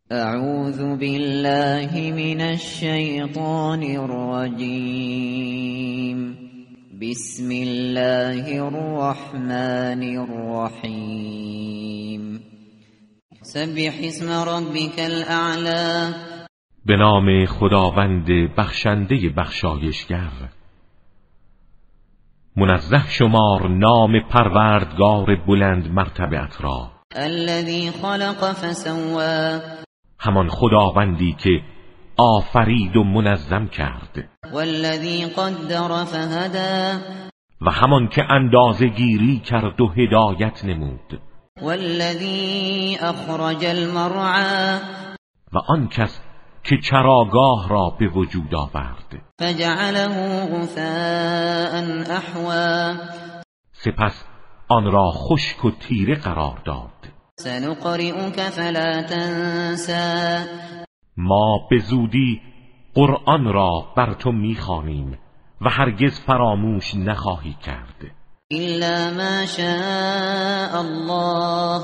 اعوذ بالله من الشیطان الرجیم. بسم الله الرحمن الرحیم. سبح اسم ربک الاعلی. به نام خداوند بخشنده بخشایشگر. منزه شمار نام پروردگار بلند مرتبت را. الذی خلق فسوی. همان خداوندی که آفرید و منظم کرد. والذی قدر فهدی. و همان که اندازه گیری کرد و هدایت نمود. والذی اخرج المرعی. و آن کس که چراگاه را به وجود آورد. فجعله غثاء احوی. سپس آن را خشک و تیره قرار داد. سنقرئك فلا تنسى. ما به زودی قرآن را بر تو می‌خوانیم و هرگز فراموش نخواهی کرد. الا ما شاء الله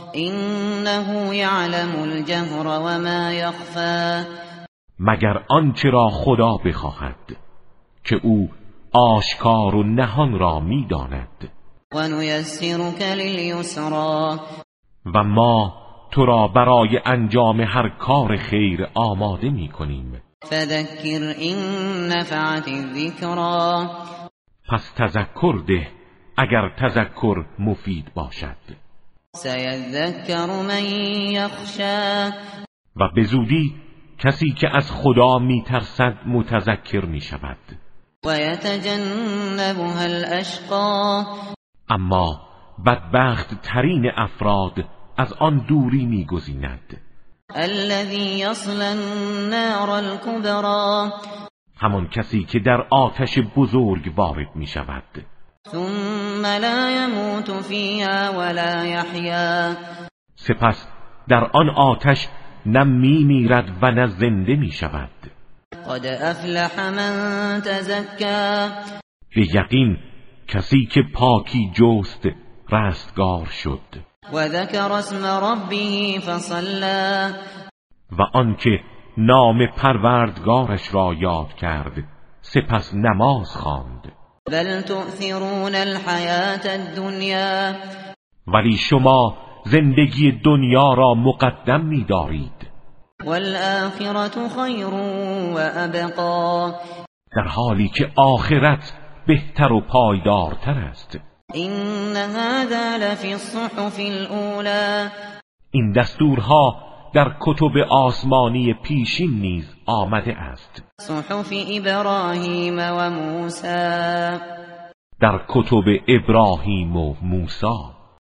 انه یعلم الجهر و ما یخفی. مگر آنچه را خدا بخواهد که او آشکار و نهان را می‌داند. و نیسرک للیسری. و ما تو را برای انجام هر کار خیر آماده می‌کنیم. فذکر این نفعت الذکری. پس تذکر ده اگر تذکر مفید باشد. سیذکر من یخشی. و به زودی کسی که از خدا می‌ترسد متذکر می‌شود. و یتجنبها الاشقی. اما بدبخت ترین افراد از آن دوری می‌گزیند. الذی یصلی النار الکبری. همان کسی که در آتش بزرگ وارد می‌شود. ثم لا يموت فيها ولا يحيا. سپس در آن آتش نه می‌میرد و نه زنده می‌شود. قد افلح من تزكى. به یقین کسی که پاکی جست رستگار شد. و ذکر اسم ربه فصلى. و آنکه نام پروردگارش را یاد کرد سپس نماز خواند. بل تؤثرون الحیاة الدنیا. ولی شما زندگی دنیا را مقدم می‌دارید. والآخرة خیر و ابقی. در حالی که آخرت بهتر و پایدارتر است. این هذا لفی الصحف الاولی. این دستورها در کتب آسمانی پیشین نیز آمده است. صحف ابراهیم و موسی. در کتب ابراهیم و موسی.